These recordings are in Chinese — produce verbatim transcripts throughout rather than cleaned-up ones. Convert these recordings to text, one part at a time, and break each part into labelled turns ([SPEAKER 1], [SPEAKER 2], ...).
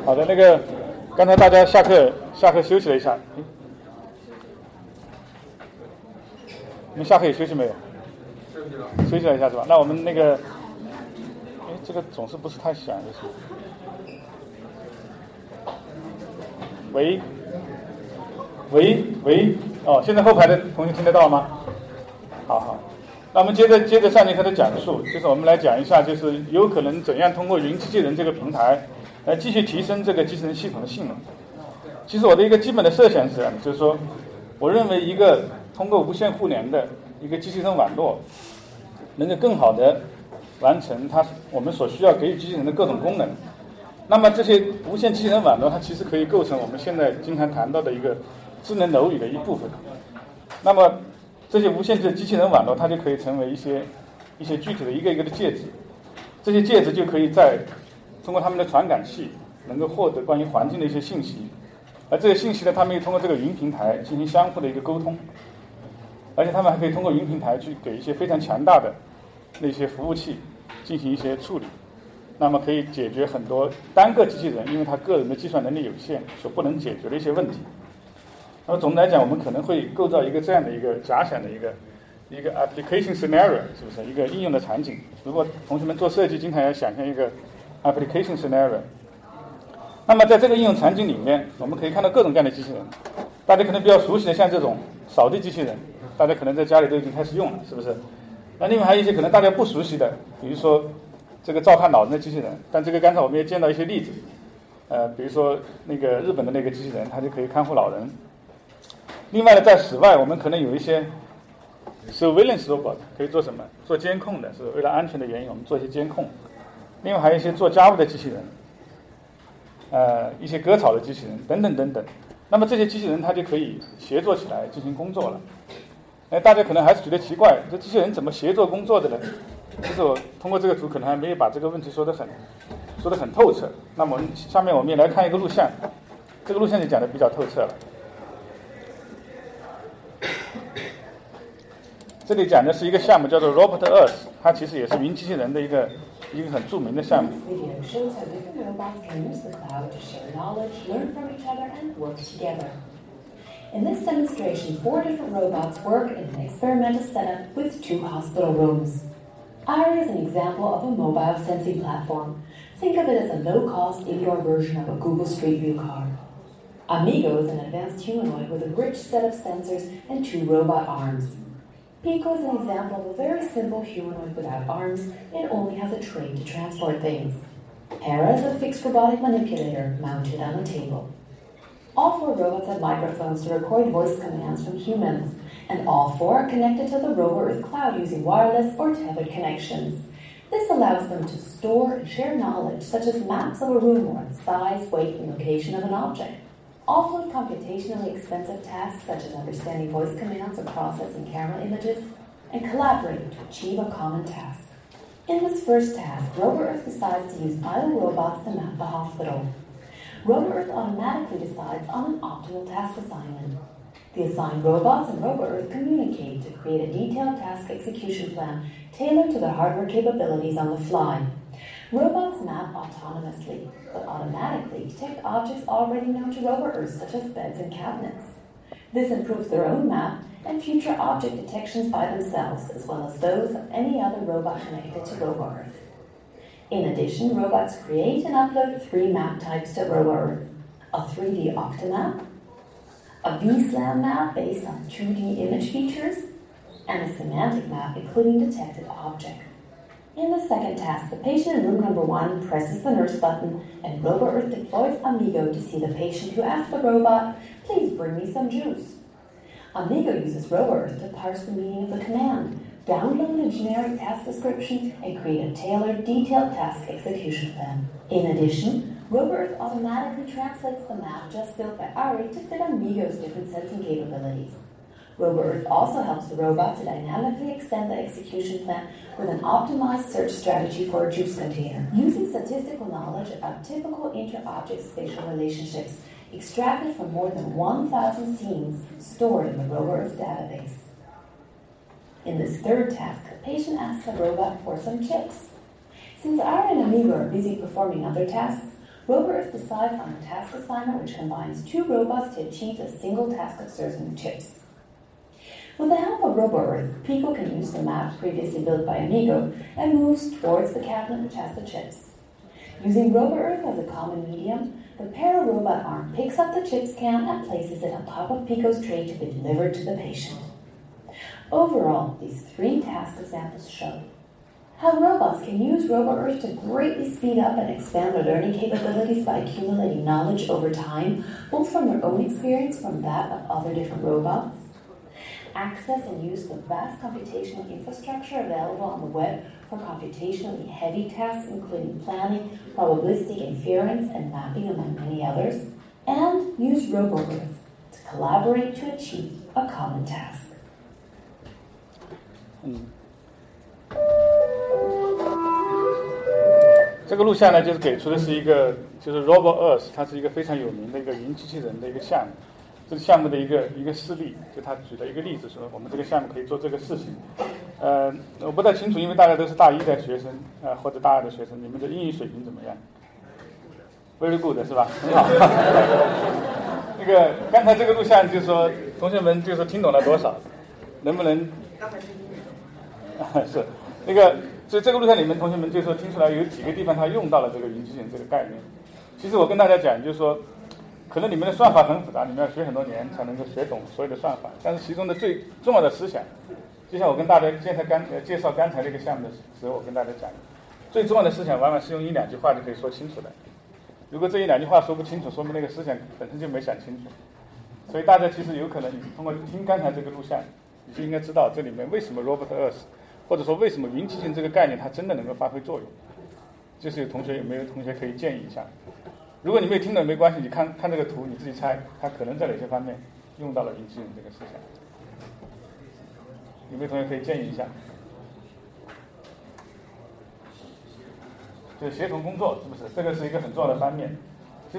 [SPEAKER 1] 好的，那个刚才大家下课下课休息了一下，你们下课也休息没有？
[SPEAKER 2] 休息了。
[SPEAKER 1] 休息了一下是吧？那我们那个，哎，这个总是不是太响，就是。喂，喂喂，哦，现在后排的同学听得到吗？好好，那我们接着接着上节课的讲述，就是我们来讲一下，就是有可能怎样通过云机器人这个平台来继续提升这个机器人系统的性能。其实我的一个基本的设想是这样的，就是说，我认为一个通过无线互联的一个机器人网络，能够更好的完成它我们所需要给予机器人的各种功能。那么这些无线机器人网络，它其实可以构成我们现在经常谈到的一个智能楼宇的一部分。那么这些无线的机器人网络，它就可以成为一些一些具体的一个一个的介质，这些介质就可以在通过它们的传感器能够获得关于环境的一些信息，而这些信息呢，它们又通过这个云平台进行相互的一个沟通，而且它们还可以通过云平台去给一些非常强大的那些服务器进行一些处理。那么可以解决很多单个机器人因为它个人的计算能力有限所不能解决的一些问题。那么总的来讲，我们可能会构造一个这样的一个假想的一个一个 application scenario， 是不是一个应用的场景？如果同学们做设计，经常要想象一个 application scenario。那么在这个应用场景里面，我们可以看到各种各样的机器人。大家可能比较熟悉的，像这种扫地机器人，大家可能在家里都已经开始用了，是不是？那另外还有一些可能大家不熟悉的，比如说这个照看老人的机器人，但这个刚才我们也见到一些例子，呃，比如说那个日本的那个机器人，它就可以看护老人。另外呢，在室外我们可能有一些 surveillance robot 可以做什么？做监控的，是为了安全的原因，我们做一些监控。另外还有一些做家务的机器人，呃，一些割草的机器人等等等等。那么这些机器人它就可以协作起来进行工作了。哎，大家可能还是觉得奇怪，这机器人怎么协作工作的呢？其实我通过这个图可能还没有把这个问题说得很说得很透彻。那么下面我们也来看一个录像，这个录像就讲得比较透彻了。这里讲的是一个项目叫做 Robot Earth， 它其实也是云机器人的一个一个很著名的项目。
[SPEAKER 3] In this demonstration, four different robots work in an experimental setup with two hospital rooms. Ari is an example of a mobile sensing platform. Think of it as a low-cost indoor version of a Google Street View car. Amigo is an advanced humanoid with a rich set of sensors and two robot arms. Pico is an example of a very simple humanoid without arms and only has a tray to transport things. Hera is a fixed robotic manipulator mounted on a table. All four robots have microphones to record voice commands from humans, and all four are connected to the RoboEarth cloud using wireless or tethered connections. This allows them to store and share knowledge such as maps of a room or the size, weight, and location of an object. Offload computationally expensive tasks such as understanding voice commands or processing camera images, and collaborate to achieve a common task. In this first task, RoboEarth decides to use idle robots to map the hospital. RoboEarth automatically decides on an optimal task assignment. The assigned robots and RoboEarth communicate to create a detailed task execution plan tailored to their hardware capabilities on the fly. Robots map autonomously, but automatically detect objects already known to RoboEarth, such as beds and cabinets. This improves their own map and future object detections by themselves, as well as those of any other robot connected to RoboEarth. In addition, robots create and upload three map types to RoboEarth: a three D Octomap, a V SLAM map based on two D image features, and a semantic map including detected objects. In the second task, the patient in room number one presses the nurse button, and RoboEarth deploys Amigo to see the patient, who asks the robot, "Please bring me some juice." Amigo uses RoboEarth to parse the meaning of the command, download a generic task description, and create a tailored, detailed task execution plan. In addition, RoboEarth automatically translates the map just built by Ari to fit Amigo's different sensing capabilities. RoboEarth also helps the robot to dynamically extend the execution plan with an optimized search strategy for a juice container, using statistical knowledge about typical inter-object spatial relationships extracted from more than one thousand scenes stored in the RoboEarth database. In this third task, the patient asks the robot for some chips. Since Ari and Amigo are busy performing other tasks, RoboEarth decides on a task assignment which combines two robots to achieve a single task of serving chips. With the help of RoboEarth, Pico can use the map previously built by Amigo and moves towards the cabinet which has the chips. Using RoboEarth as a common medium, the para-robot arm picks up the chips can and places it on top of Pico's tray to be delivered to the patient. Overall, these three task examples show how robots can use RoboEarth to greatly speed up and expand their learning capabilities by accumulating knowledge over time, both from their own experience from that of other different robots, access and use the vast computational infrastructure available on the web for computationally heavy tasks, including planning, probabilistic inference, and mapping, among many others, and use RoboEarth to collaborate to achieve a common task.
[SPEAKER 1] 嗯，这个录像呢，就是给出的是一个，就是 RoboEarth， 它是一个非常有名的一个云机器人的一个项目。这个项目的一个一个事例，就他举了一个例子说，我们这个项目可以做这个事情。呃，我不太清楚，因为大家都是大一的学生，呃，或者大二的学生，你们的英语水平怎么样 ？Very good， 是吧？很好。那个刚才这个录像就是说，同学们就是听懂了多少？能不能？是那个，所以这个录像里面，同学们就说听出来有几个地方他用到了这个云机器人这个概念。其实我跟大家讲，就是说。可能你们的算法很复杂，你们要学很多年才能够学懂所有的算法。但是其中的最重要的思想，就像我跟大家现在刚介绍刚才这个项目的时候，我跟大家讲，最重要的思想往往是用一两句话就可以说清楚的。如果这一两句话说不清楚，说明那个思想本身就没想清楚。所以大家其实有可能，你通过听刚才这个录像，你就应该知道这里面为什么 RoboEarth， 或者说为什么云机器人这个概念它真的能够发挥作用。就是有同学有没有同学可以建议一下？如果你没有听懂没关系，你看看这个图，你自己猜，它可能在哪些方面用到了云机器人这个思想？有没有同学可以建议一下？就是协同工作，是不是？这个是一个很重要的方面。就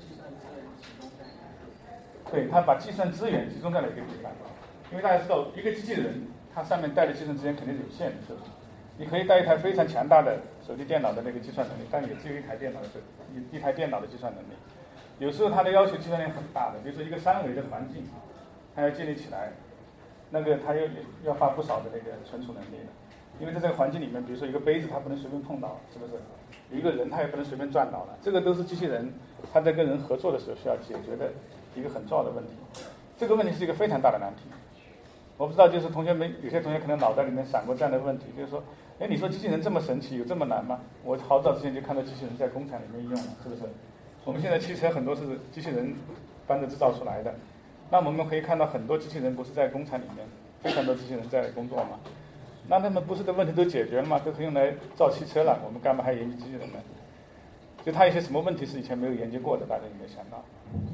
[SPEAKER 1] 对，它把计算资源集中在了一个地方，因为大家知道，一个机器人它上面带的计算资源肯定是有限的，是不是？你可以带一台非常强大的手提电脑的那个计算能力，但也只有一台电脑的一一台电脑的计算能力。有时候它的要求计算量很大的，比如说一个三维的环境，它要建立起来，那个它要要花不少的那个存储能力的。因为在这个环境里面，比如说一个杯子它不能随便碰到，是不是？有一个人他也不能随便撞倒了，这个都是机器人它在跟人合作的时候需要解决的一个很重要的问题。这个问题是一个非常大的难题。我不知道，就是同学们有些同学可能脑袋里面闪过这样的问题，就是说，哎，你说机器人这么神奇，有这么难吗？我好早之前就看到机器人在工厂里面用了，是不是？我们现在汽车很多是机器人帮着制造出来的，那我们可以看到很多机器人不是在工厂里面，非常多机器人在工作嘛。那他们不是的问题都解决了吗？都可以用来造汽车了，我们干嘛还研究机器人呢？就它有些什么问题是以前没有研究过的，大家有没有想到？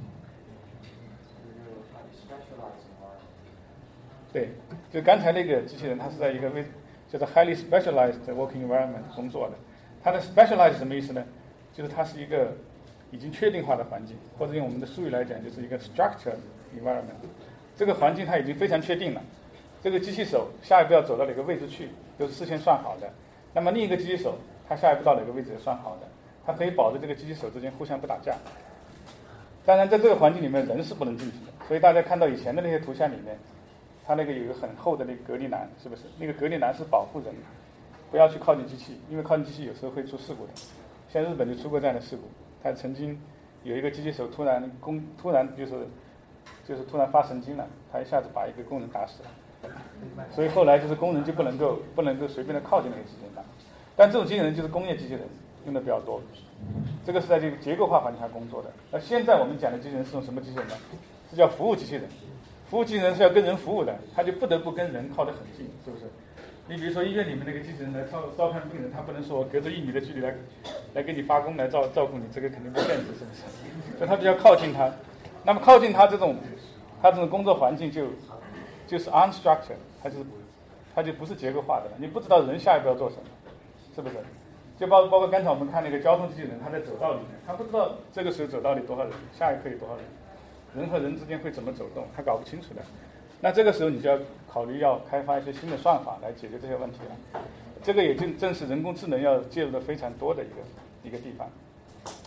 [SPEAKER 1] 对，就刚才那个机器人，它是在一个为叫做 highly specialized working environment 工作的。它的 specialized 什么意思呢？就是它是一个已经确定化的环境，或者用我们的术语来讲，就是一个 structured environment。这个环境它已经非常确定了，这个机器手下一步要走到哪个位置去，都是事先算好的。那么另一个机器手，它下一步到哪个位置也算好的，它可以保证这个机器手之间互相不打架。当然，在这个环境里面，人是不能进去的。所以大家看到以前的那些图像里面，它那个有一个很厚的那个隔离栏，是不是？那个隔离栏是保护人，不要去靠近机器，因为靠近机器有时候会出事故的。像日本就出过这样的事故，他曾经有一个机器手突然工突然就是就是突然发神经了，他一下子把一个工人打死了。所以后来就是工人就不能够不能够随便的靠近那个机器人了。但这种机器人就是工业机器人用的比较多，这个是在这个结构化环境下工作的。那现在我们讲的机器人是种什么机器人呢？是叫服务机器人。服务机器人是要跟人服务的，他就不得不跟人靠得很近，是不是？你比如说医院里面那个机器人来照照看病人，他不能说我隔着一米的距离来来给你发功来照照顾你，这个肯定不现实，是不是？所以他比较靠近他。那么靠近他这种，他这种工作环境就就是 unstructured， 它就是它就不是结构化的了，你不知道人下一步要做什么，是不是？就包包括刚才我们看那个交通机器人，他在走道里面，他不知道这个时候走道里多少人，下一刻有多少人。人和人之间会怎么走动，他搞不清楚的。那这个时候你就要考虑要开发一些新的算法来解决这些问题了。这个也正正是人工智能要介入的非常多的一个一个地方。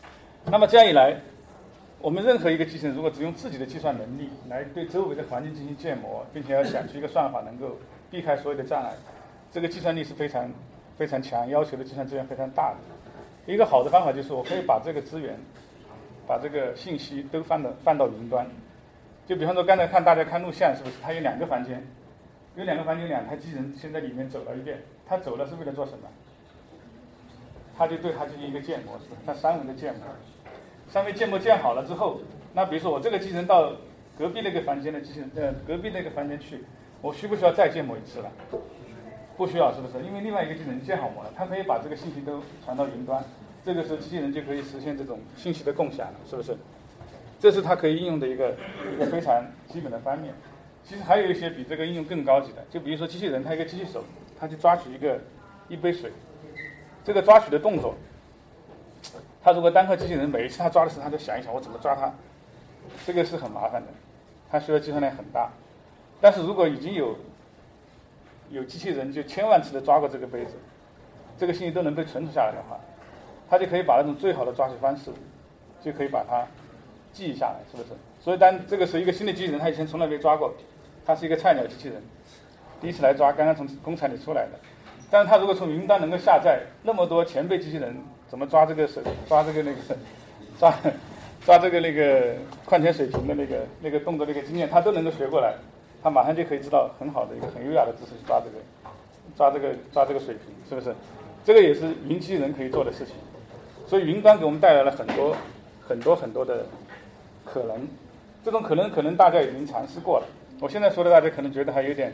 [SPEAKER 1] 那么这样一来，我们任何一个机器人如果只用自己的计算能力来对周围的环境进行建模，并且要想出一个算法能够避开所有的障碍，这个计算力是非常非常强，要求的计算资源非常大的。一个好的方法就是我可以把这个资源把这个信息都放到放到云端。就比方说刚才看大家看录像，是不是它有两个房间，有两个房间，有两台机器人先在里面走了一遍，它走了是为了做什么？它就对它进行一个建模，是不是？它三维的建模，三维建模建好了之后，那比如说我这个机器人到隔壁那个房间的机器人，呃，隔壁那个房间去，我需不需要再建模一次了？不需要，是不是？因为另外一个机器人建好模了，它可以把这个信息都传到云端，这个时候机器人就可以实现这种信息的共享了，是不是？这是它可以应用的一个一个非常基本的方面。其实还有一些比这个应用更高级的，就比如说机器人，它一个机器手，它去抓取一个一杯水，这个抓取的动作，它如果单靠机器人，每一次它抓的时候，它就想一想我怎么抓它，这个是很麻烦的，它需要计算量很大。但是如果已经有有机器人就千万次的抓过这个杯子，这个信息都能被存储下来的话，它就可以把那种最好的抓取方式，就可以把它记忆下来，是不是？所以当这个是一个新的机器人，他以前从来没抓过，他是一个菜鸟机器人，第一次来抓，刚刚从工厂里出来的。但是他如果从云端能够下载那么多前辈机器人怎么抓这个水，抓这个那个抓抓这个那个矿泉水瓶的那个那个动作那个经验，他都能够学过来，他马上就可以知道很好的一个很优雅的姿势去抓这个抓这个抓这个水瓶，是不是？这个也是云机器人可以做的事情。所以云端给我们带来了很多很多很多的可能，这种可能可能大家已经尝试过了。我现在说的大家可能觉得还有点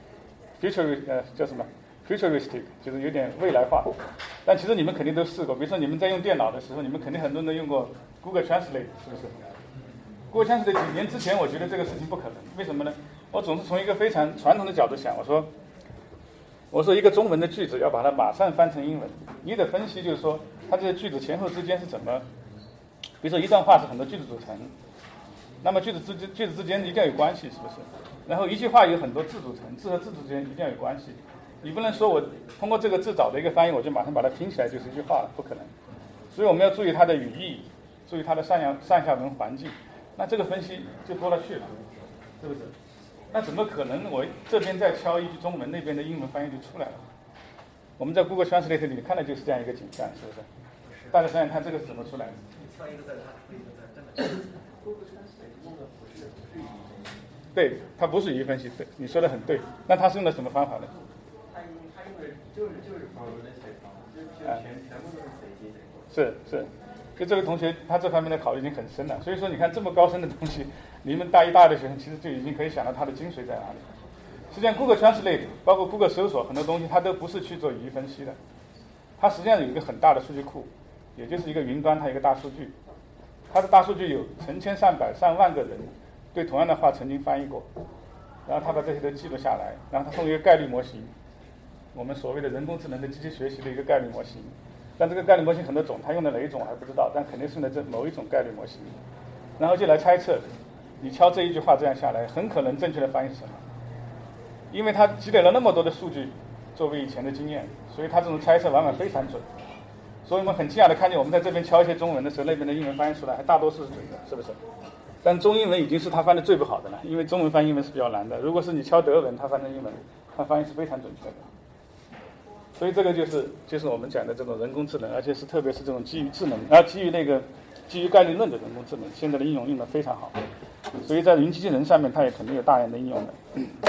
[SPEAKER 1] future 呃叫什么 futuristic， 就是有点未来化，但其实你们肯定都试过。比如说你们在用电脑的时候，你们肯定很多人都用过 Google Translate， 是不是 ？Google Translate 几年之前我觉得这个事情不可能，为什么呢？我总是从一个非常传统的角度想，我说我说一个中文的句子要把它马上翻成英文，你得分析就是说它这些句子前后之间是怎么，比如说一段话是很多句子组成，那么句子之间句子之间一定要有关系，是不是？然后一句话有很多字组成，字和字之间一定要有关系。你不能说我通过这个字找的一个翻译，我就马上把它拼起来就是一句话了，不可能。所以我们要注意它的语义，注意它的上下上下文环境，那这个分析就多了去了，是不是？那怎么可能我这边再敲一句中文，那边的英文翻译就出来了？我们在 Google Translate 里看的就是这样一个景象，是不是？大家想想看，这个是怎么出来的？对，它不是语义分析，对，你说的很对。那它是用的什么方法呢？
[SPEAKER 2] 它用它用的就是就是 probabilistic 方法，就是全全部都是随机这个。
[SPEAKER 1] 是是，就这位同学他这方面的考虑已经很深了。所以说，你看这么高深的东西，你们大一、大二的学生其实就已经可以想到它的精髓在哪里。实际上 ，Google Translate 包括 Google 搜索很多东西，它都不是去做语义分析的，它实际上有一个很大的数据库，也就是一个云端，它有一个大数据，它的大数据有成千上百上万个人对同样的话曾经翻译过，然后他把这些都记录下来，然后他用一个概率模型，我们所谓的人工智能的机器学习的一个概率模型，但这个概率模型很多种，他用的哪一种还不知道，但肯定是用的这某一种概率模型，然后就来猜测，你敲这一句话这样下来，很可能正确的翻译是什么？因为他积累了那么多的数据作为以前的经验，所以他这种猜测往往非常准。所以我们很惊讶的看见，我们在这边敲一些中文的时候，那边的英文翻译出来还大多数是准的，是不是？但中英文已经是他翻的最不好的了，因为中文翻英文是比较难的。如果是你敲德文，他翻成英文，他翻译是非常准确的。所以这个就是就是我们讲的这种人工智能，而且是特别是这种基于智能，啊，基于那个基于概率论的人工智能，现在的应用用的非常好。所以在云机器人上面，它也肯定有大量的应用的。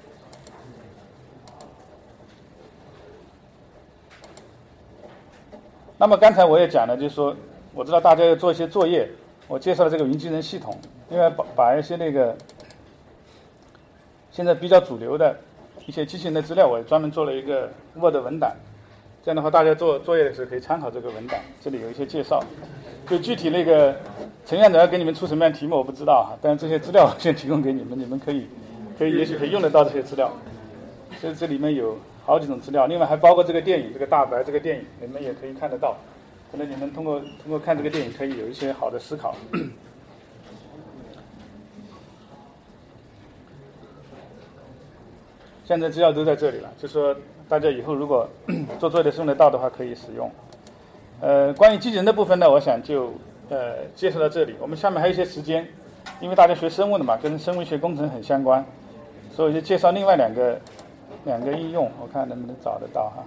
[SPEAKER 1] 那么刚才我也讲了，就是说，我知道大家要做一些作业，我介绍了这个云机器人系统，另外把把一些那个现在比较主流的一些机器人的资料，我也专门做了一个 Word 文档，这样的话大家做作业的时候可以参考这个文档，这里有一些介绍。就具体那个陈院长要给你们出什么样的题目我不知道哈，但是这些资料我先提供给你们，你们可以可以也许可以用得到这些资料。所以这里面有好几种资料，另外还包括这个电影，这个大白这个电影，你们也可以看得到。可能你们通过通过看这个电影，可以有一些好的思考。现在资料都在这里了，就说大家以后如果做作业的时候用得到的话，可以使用。呃，关于机器人的部分呢，我想就呃介绍到这里。我们下面还有一些时间，因为大家学生物的嘛，跟生物学工程很相关，所以就介绍另外两个两个应用，我看能不能找得到哈。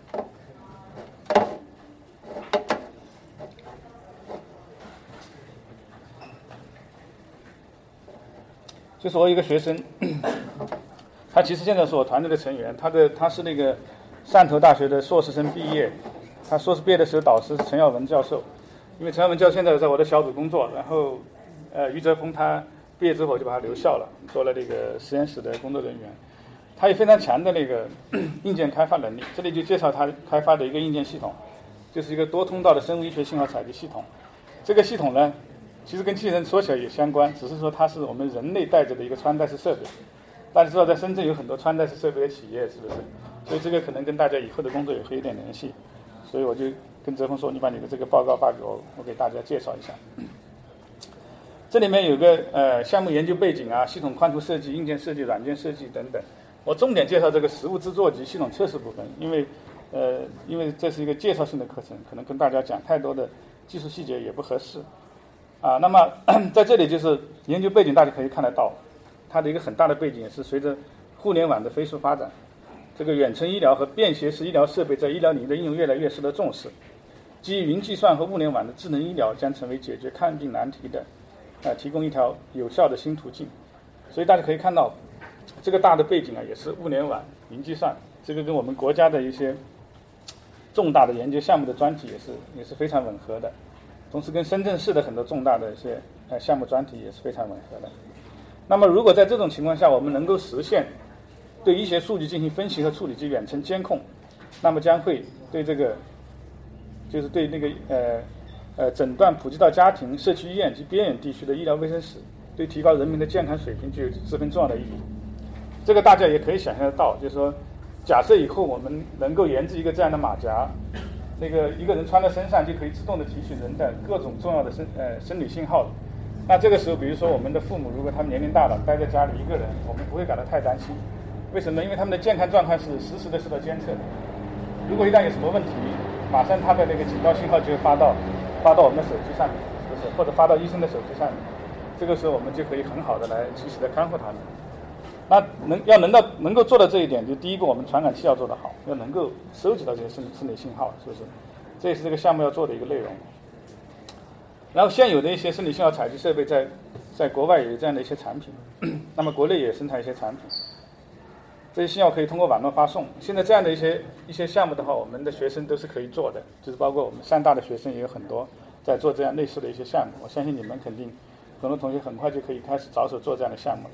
[SPEAKER 1] 就是我有一个学生，他其实现在是我团队的成员，他的他是那个汕头大学的硕士生毕业，他硕士毕业的时候导师是陈耀文教授，因为陈耀文教授现在在我的小组工作，然后呃余泽峰他毕业之后就把他留校了，做了这个实验室的工作人员，他有非常强的那个硬件开发能力，这里就介绍他开发的一个硬件系统，就是一个多通道的生物医学信号采集系统，这个系统呢其实跟机器人说起来也相关，只是说它是我们人类带着的一个穿戴式设备。大家知道在深圳有很多穿戴式设备的企业，是不是？所以这个可能跟大家以后的工作也会有点联系。所以我就跟泽峰说，你把你的这个报告发给我，我给大家介绍一下。这里面有个呃项目研究背景啊，系统宽图设计、硬件设计、软件设计等等。我重点介绍这个实物制作及系统测试部分，因为呃因为这是一个介绍性的课程，可能跟大家讲太多的技术细节也不合适。啊，那么在这里就是研究背景，大家可以看得到，它的一个很大的背景也是随着互联网的飞速发展，这个远程医疗和便携式医疗设备在医疗领域的应用越来越受到重视。基于云计算和物联网的智能医疗将成为解决看病难题的，呃，提供一条有效的新途径。所以大家可以看到，这个大的背景啊，也是物联网、云计算，这个跟我们国家的一些重大的研究项目的专题也是也是非常吻合的。同时跟深圳市的很多重大的一些呃项目专题也是非常吻合的。那么如果在这种情况下我们能够实现对医学数据进行分析和处理及远程监控，那么将会对这个就是对那个呃呃诊断普及到家庭、社区医院及边远地区的医疗卫生室，对提高人民的健康水平具有十分重要的意义。这个大家也可以想象得到，就是说假设以后我们能够研制一个这样的马甲，那个一个人穿在身上就可以自动的提取人的各种重要的生呃生理信号。那这个时候，比如说我们的父母，如果他们年龄大了，待在家里一个人，我们不会感到太担心。为什么？因为他们的健康状况是实时的受到监测的。如果一旦有什么问题，马上他的那个警告信号就会发到发到我们的手机上面，是不是？或者发到医生的手机上面。这个时候我们就可以很好的来及时的看护他们。那能要能到能够做到这一点，就第一个我们传感器要做得好，要能够收集到这些生生理信号，是不是？这也是这个项目要做的一个内容。然后现有的一些生理信号采集设备在在国外也有这样的一些产品，那么国内也生产一些产品，这些信号可以通过网络发送。现在这样的一些一些项目的话，我们的学生都是可以做的，就是包括我们汕大的学生也有很多在做这样类似的一些项目。我相信你们肯定很多同学很快就可以开始着手做这样的项目了。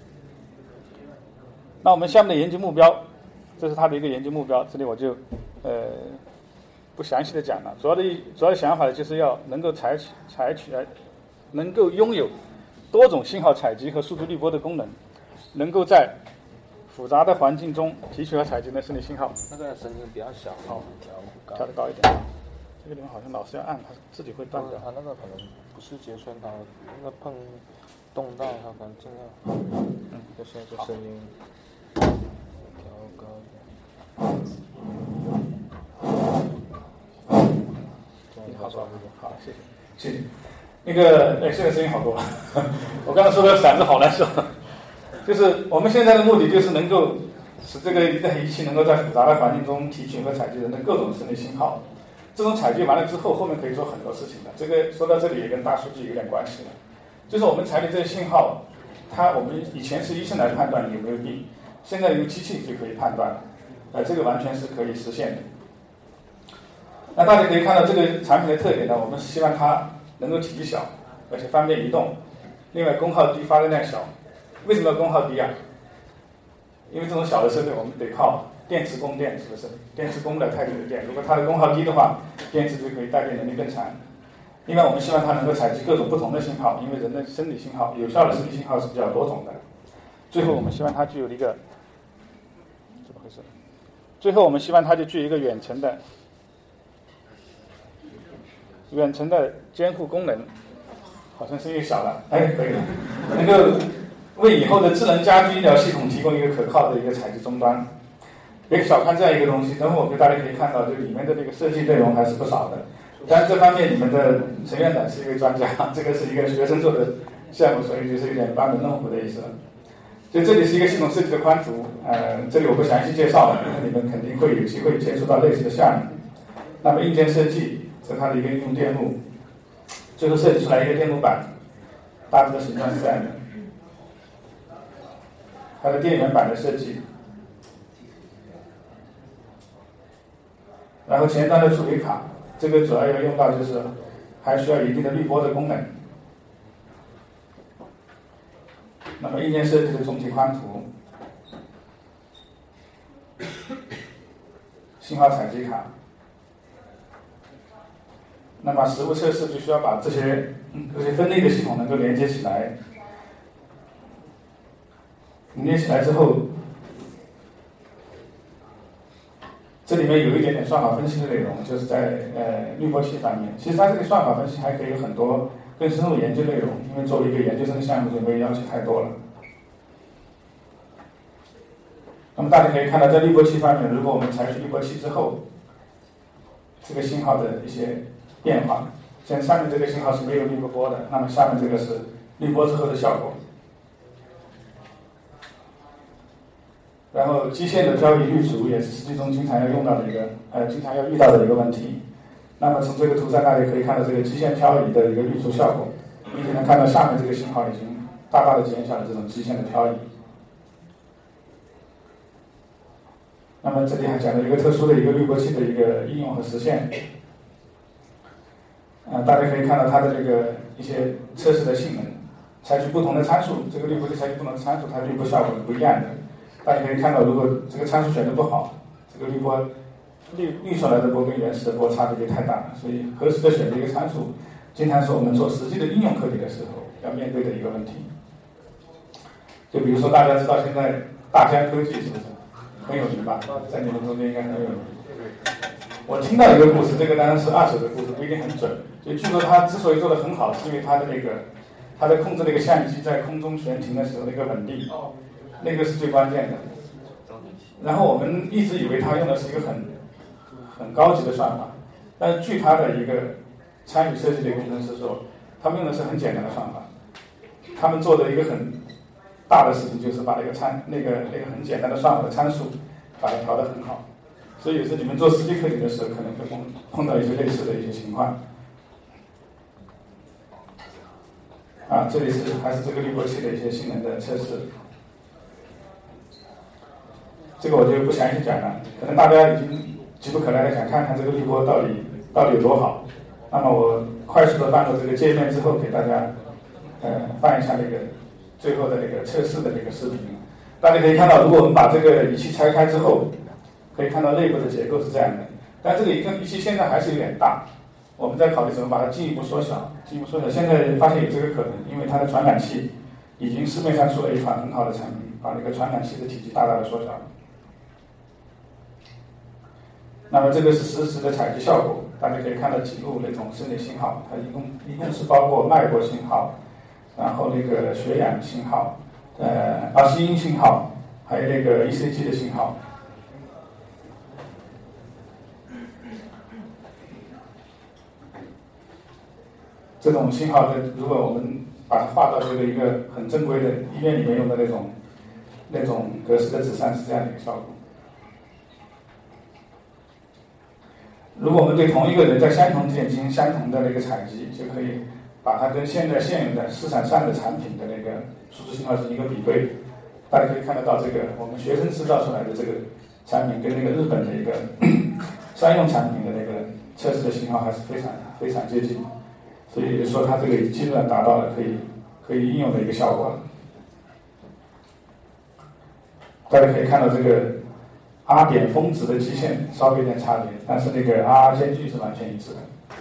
[SPEAKER 1] 那我们项目的研究目标，这是它的一个研究目标，这里我就呃不详细的讲了。主要的主要的想法呢，就是要能够采取采取能够拥有多种信号采集和数据滤波的功能，能够在复杂的环境中提取和采集的生理信号。
[SPEAKER 4] 那个声音比较小，
[SPEAKER 1] 好，
[SPEAKER 4] 调
[SPEAKER 1] 调得高一点。这个地方好像老是要按，它自己会断掉。
[SPEAKER 4] 它那个可能不是节顺它，那个碰动到它可能尽量，嗯，就现在声音调高一点。
[SPEAKER 1] 你好，好，好，谢谢，谢谢。那个，哎，现在声音好多了。我刚才说的嗓子好难受。就是我们现在的目的就是能够使这个仪器能够在复杂的环境中提取和采集人的各种生理信号。这种采集完了之后，后面可以做很多事情的。这个说到这里也跟大数据有点关系了。就是我们采集这些信号，它我们以前是医生来判断有没有病，现在用机器就可以判断了。呃，这个完全是可以实现的。那大家可以看到这个产品的特点呢，我们是希望它能够体积小，而且方便移动。另外功耗低，发热量小。为什么要功耗低啊？因为这种小的设备我们得靠电池供电，是不是？电池供不了太久的电，如果它的功耗低的话，电池就可以带电能力更强。另外我们希望它能够采集各种不同的信号，因为人的生理信号，有效的生理信号是比较多种的。最后我们希望它具有一个怎么回事？最后我们希望它就具有一个远程的远程的监护功能。好像声音小了，哎，可以了，能够为以后的智能家居医疗系统提供一个可靠的一个采集终端。别小看这样一个东西，等会我给大家可以看到，这里面的这个设计内容还是不少的。 当然这方面你们的陈院长是一位专家，这个是一个学生做的项目，所以就是有点班门弄斧的意思。所以这里是一个系统设计的宽图，呃，这里我不详细介绍了，因为你们肯定会有机会接触到类似的项目。那么硬件设计是它的一个应用电路，最后设计出来一个电路板，大致的形状是这样的。它的电源板的设计，然后前端的处理卡，这个主要要用到就是还需要一定的滤波的功能。那么硬件设计的总体宽图，信号采集卡。那么实物测试就需要把这些这些分类的系统能够连接起来，连接起来之后，这里面有一点点算法分析的内容，就是在呃滤波器方面。其实它这个算法分析还可以有很多更深入研究内容，因为作为一个研究生的项目，就没有要求太多了。那么大家可以看到，在滤波器方面，如果我们采取滤波器之后，这个信号的一些变化，像上面这个信号是没有滤过波的，那么下面这个是滤波之后的效果。然后基线的漂移滤除也是实际中经常要用到的一个呃经常要遇到的一个问题。那么从这个图上大家可以看到这个基线漂移的一个滤除效果，你可能看到下面这个信号已经大大的减小了这种基线的漂移。那么这里还讲了一个特殊的一个滤波器的一个应用和实现。呃，大家可以看到它的这个一些测试的性能，采取不同的参数，这个滤波器采取不同的参数，它滤波效果是不一样的。大家可以看到，如果这个参数选的不好，这个滤波滤滤出来的波跟原始的波差别就太大了。所以合适的选择一个参数，经常是我们做实际的应用课题的时候要面对的一个问题。就比如说大家知道现在大疆科技是不是很有名吧？在你们中间应该很有名。我听到一个故事，这个当然是二手的故事，不一定很准。就据说他之所以做得很好，是因为他的那个他的控制那个相机在空中悬停的时候那个稳定，那个是最关键的。然后我们一直以为他用的是一个很很高级的算法，但是据他的一个参与设计的工程师说，他们用的是很简单的算法。他们做的一个很大的事情就是把那个参那个那个很简单的算法的参数把它调得很好。所以有时你们做实际课题的时候，可能会碰碰到一些类似的一些情况。啊，这里是还是这个滤波器的一些性能的测试。这个我就不详细讲了，可能大家已经急不可耐的想看看这个滤波到底到底有多好。那么我快速的放入这个界面之后，给大家呃放一下那个最后的那个测试的那个视频。大家可以看到，如果我们把这个仪器拆开之后，可以看到内部的结构是这样的，但这个仪器现在还是有点大，我们在考虑怎么把它进一步缩小，进一步缩小。现在发现有这个可能，因为它的传感器已经市面上出了一款很好的产品，把那个传感器的体积大大的缩小了。那么这个是实时的采集效果，大家可以看到几路那种生理信号，它一共一共是包括脉搏信号，然后那个血氧信号，呃，耳吸音信号，还有那个 E C G 的信号。这种信号的，如果我们把它画到这个一个很正规的医院里面用的那种那种格式的纸上，是这样的一个效果。如果我们对同一个人在相同地点进行相同的那个采集，就可以把它跟现在现有的市场上的产品的那个数字信号进行一个比对。大家可以看得到，这个我们学生制造出来的这个产品跟那个日本的一个商用产品的那个测试的信号还是非常非常接近。所以也就是说，它这个基本上达到了可以可以应用的一个效果了。大家可以看到这个 R 点峰值的基线稍微有点差别，但是那个 R 间距是完全一致的。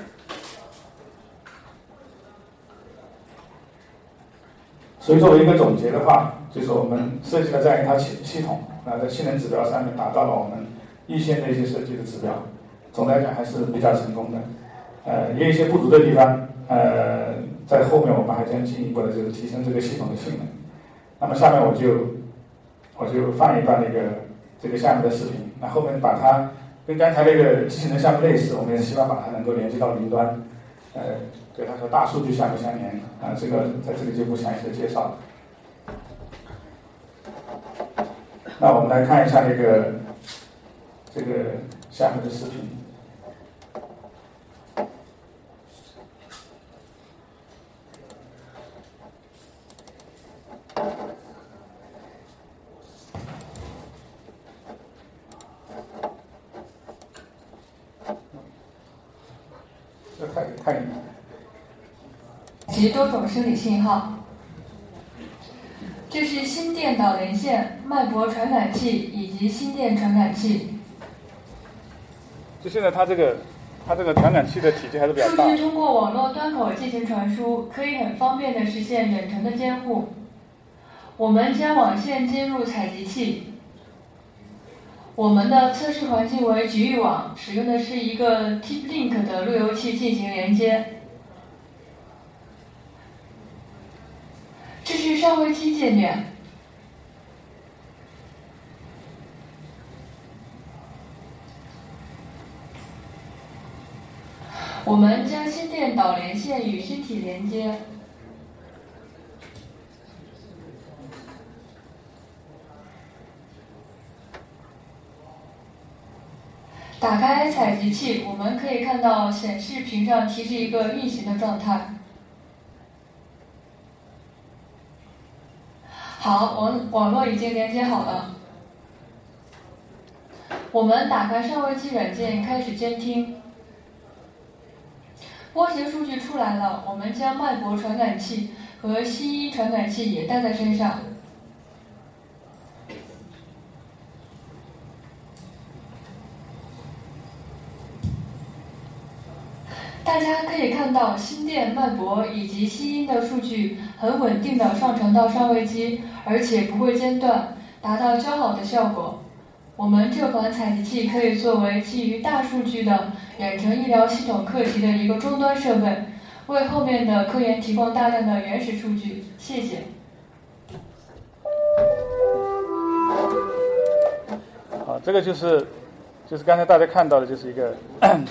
[SPEAKER 1] 所以作为一个总结的话，就是我们设计了这样一套系系统，那在性能指标上面达到了我们一线的一些设计的指标，总的来讲还是比较成功的。呃，也有一些不足的地方。呃，在后面我们还将进一步的就是提升这个系统的性能。那么下面我就我就放一段那个这个项目的视频，那后面把它跟刚才那个机器人项目类似，我们也是希望把它能够连接到云端，呃，对它和大数据相不相连啊，这个在这里就不详细的介绍了。那我们来看一下那个这个项目的视频。这太太
[SPEAKER 5] 及多种生理信号。这是心电导连线、脉搏传感器以及心电传感器。
[SPEAKER 1] 就现在它这个它这个传感器的体积还是比较大。
[SPEAKER 5] 数据通过网络端口进行传输，可以很方便地实现远程的监护。我们将网线接入采集器。我们的测试环境为局域网，使用的是一个 TP-Link 的路由器进行连接。这是上位机界面。我们将心电导连线与身体连接。打开采集器，我们可以看到显示屏上提示一个运行的状态。好，网网络已经连接好了。我们打开上位机软件，开始监听。波形数据出来了，我们将脉搏传感器和吸音传感器也带在身上。大家可以看到，心电、脉搏以及吸音的数据很稳定地上传到上位机，而且不会间断，达到较好的效果。我们这款采集器可以作为基于大数据的远程医疗系统课题的一个终端设备，为后面的科研提供大量的原始数据。谢谢。
[SPEAKER 1] 好，这个就是就是刚才大家看到的，就是一个。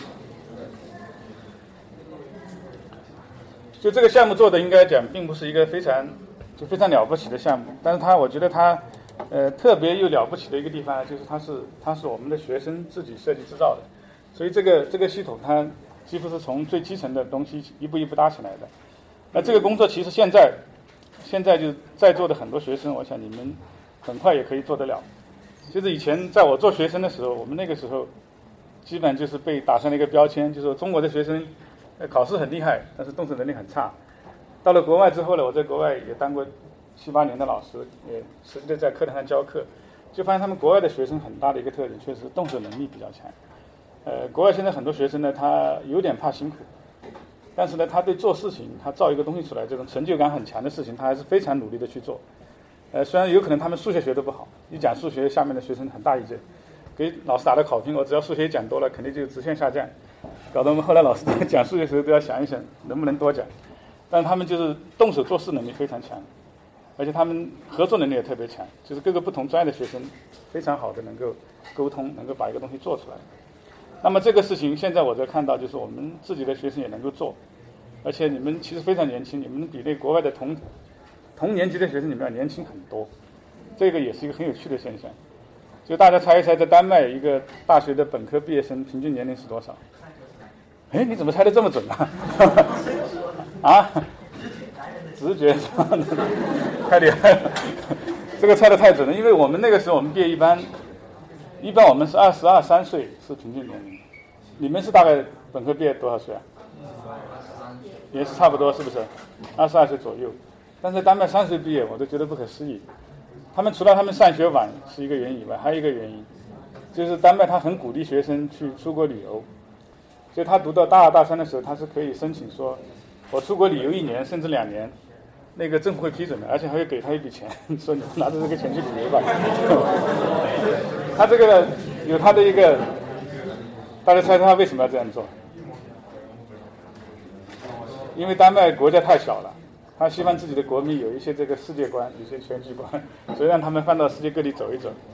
[SPEAKER 1] 就这个项目做的应该讲并不是一个非常就非常了不起的项目，但是它我觉得它呃特别又了不起的一个地方就是它是它是我们的学生自己设计制造的，所以这个这个系统它几乎是从最基层的东西一步一步搭起来的。那这个工作其实现在现在就在座的很多学生，我想你们很快也可以做得了。就是以前在我做学生的时候，我们那个时候基本就是被打上了一个标签，就是说中国的学生考试很厉害，但是动手能力很差。到了国外之后呢，我在国外也当过七八年的老师，也实际的在课堂上教课，就发现他们国外的学生很大的一个特点，确实动手能力比较强。呃，国外现在很多学生呢，他有点怕辛苦，但是呢，他对做事情，他造一个东西出来，这种成就感很强的事情，他还是非常努力的去做。呃，虽然有可能他们数学学得不好，一讲数学，下面的学生很大意见，给老师打的考评，我只要数学讲多了，肯定就直线下降。搞得我们后来老师在讲数学的时候都要想一想能不能多讲，但是他们就是动手做事能力非常强，而且他们合作能力也特别强，就是各个不同专业的学生非常好的能够沟通，能够把一个东西做出来。那么这个事情现在我在看到，就是我们自己的学生也能够做，而且你们其实非常年轻，你们比那国外的同同年级的学生你们要年轻很多，这个也是一个很有趣的现象。就大家猜一猜，在丹麦一个大学的本科毕业生平均年龄是多少？哎，你怎么猜得这么准啊？啊？直觉是吧？太厉害了，这个猜得太准了。因为我们那个时候我们毕业一般，一般我们是二十二三岁是平均年龄，你们是大概本科毕业多少岁啊？也是差不多，是不是？二十二岁左右。但是丹麦三岁毕业，我都觉得不可思议。他们除了他们上学晚是一个原因以外，还有一个原因，就是丹麦他很鼓励学生去出国旅游。所以他读到大二大三的时候，他是可以申请说我出国旅游一年甚至两年，那个政府会批准的，而且还会给他一笔钱，说你拿着这个钱去旅游吧。他这个有他的一个，大家猜他为什么要这样做？因为丹麦国家太小了，他希望自己的国民有一些这个世界观，有一些全局观，所以让他们放到世界各地走一走。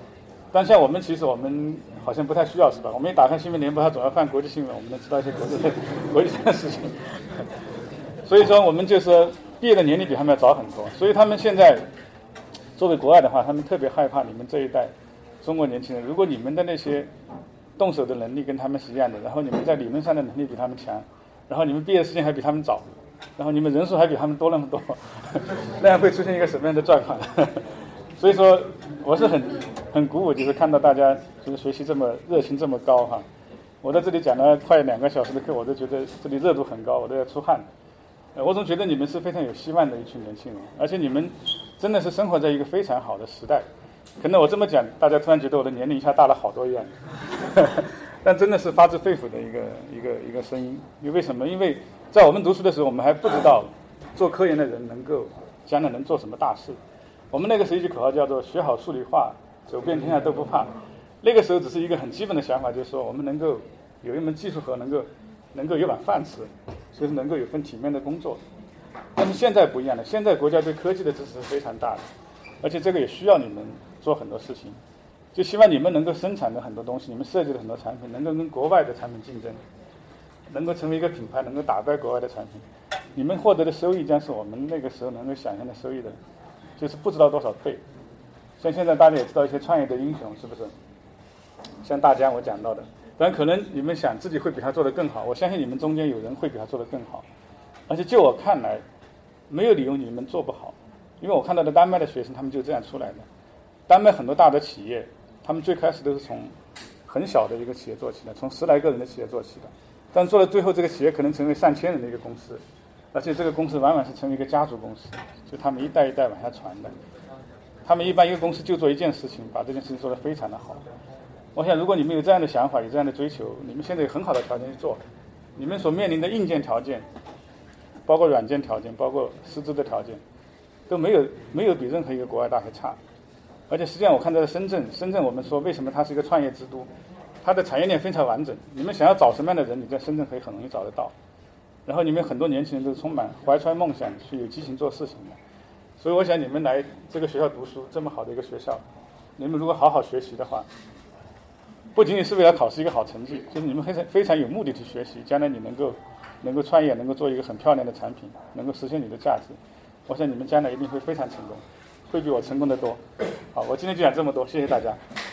[SPEAKER 1] 但像我们其实我们好像不太需要是吧？我们一打开新闻联播，它总要放国际新闻，我们能知道一些国际的国际上的事情。所以说我们就是毕业的年龄比他们要早很多，所以他们现在作为国外的话，他们特别害怕你们这一代中国年轻人，如果你们的那些动手的能力跟他们是一样的，然后你们在理论上的能力比他们强，然后你们毕业的时间还比他们早，然后你们人数还比他们多那么多，那样会出现一个什么样的状况？所以说我是很很鼓舞，就是看到大家就是学习这么热情这么高哈。我在这里讲了快两个小时的课，我都觉得这里热度很高，我都要出汗。呃，我总觉得你们是非常有希望的一群年轻人，而且你们真的是生活在一个非常好的时代。可能我这么讲，大家突然觉得我的年龄一下大了好多一样，但真的是发自肺腑的一个一个一个声音。因为什么？因为在我们读书的时候，我们还不知道做科研的人能够将来能做什么大事。我们那个时候一句口号叫做“学好数理化，走遍天下都不怕”。那个时候只是一个很基本的想法，就是说我们能够有一门技术活，能够能够有碗饭吃，就是能够有份体面的工作。但是现在不一样了，现在国家对科技的支持是非常大的，而且这个也需要你们做很多事情，就希望你们能够生产的很多东西，你们设计的很多产品能够跟国外的产品竞争，能够成为一个品牌，能够打败国外的产品。你们获得的收益将是我们那个时候能够想象的收益的，就是不知道多少倍。像现在大家也知道一些创业的英雄，是不是？像大家我讲到的，当然可能你们想自己会比他做得更好，我相信你们中间有人会比他做得更好，而且就我看来，没有理由你们做不好，因为我看到的丹麦的学生他们就这样出来的。丹麦很多大的企业，他们最开始都是从很小的一个企业做起的，从十来个人的企业做起的，但做到最后这个企业可能成为上千人的一个公司，而且这个公司往往是成为一个家族公司，就他们一代一代往下传的。他们一般一个公司就做一件事情，把这件事情做得非常的好。我想如果你们有这样的想法，有这样的追求，你们现在有很好的条件去做，你们所面临的硬件条件，包括软件条件，包括师资的条件，都没有没有比任何一个国外大学差。而且实际上我看到深圳，深圳我们说为什么它是一个创业之都，它的产业链非常完整，你们想要找什么样的人，你在深圳可以很容易找得到。然后你们很多年轻人都是充满怀揣梦想，去有激情做事情的。所以我想你们来这个学校读书，这么好的一个学校，你们如果好好学习的话，不仅仅是为了考试一个好成绩，就是你们非常非常有目的去学习，将来你能够能够创业，能够做一个很漂亮的产品，能够实现你的价值。我想你们将来一定会非常成功，会比我成功的多。好，我今天就讲这么多，谢谢大家。